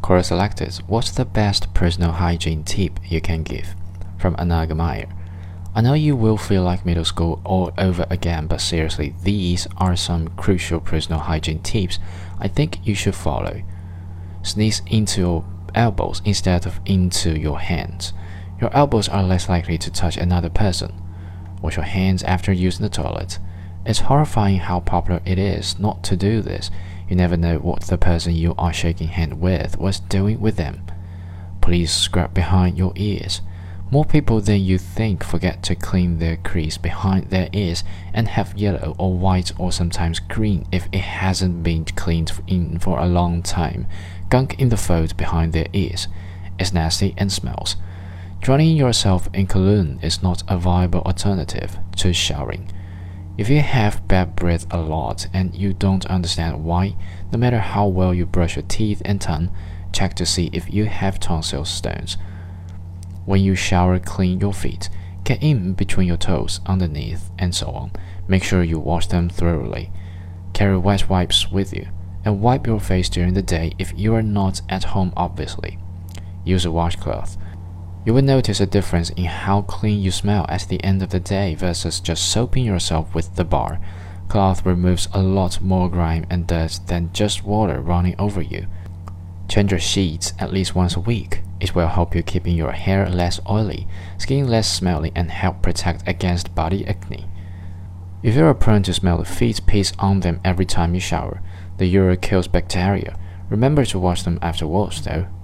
Quora selected, what's the best personal hygiene tip you can give? From Anaga Meyer. I know you will feel like middle school all over again, but seriously, these are some crucial personal hygiene tips I think you should follow. Sneeze into your elbows instead of into your hands. Your elbows are less likely to touch another person. Wash your hands after using the toilet. It's horrifying how popular it is not to do this. You never know what the person you are shaking hands with was doing with them. Please scrub behind your ears. More people than you think forget to clean their crease behind their ears and have yellow or white or sometimes green if it hasn't been cleaned in for a long time. Gunk in the fold behind their ears. It's nasty and smells. Drowning yourself in cologne is not a viable alternative to showering. If you have bad breath a lot and you don't understand why, no matter how well you brush your teeth and tongue, check to see if you have tonsil stones. When you shower, clean your feet. Get in between your toes, underneath, and so on. Make sure you wash them thoroughly. Carry wet wipes with you, and wipe your face during the day if you are not at home obviously. Use a washcloth. You will notice a difference in how clean you smell at the end of the day versus just soaping yourself with the bar. Cloth removes a lot more grime and dirt than just water running over you. Change your sheets at least once a week. It will help you keeping your hair less oily, skin less smelly, and help protect against body acne. If you are prone to smell the feet piss on them every time you shower, the urine kills bacteria. Remember to wash them afterwards though.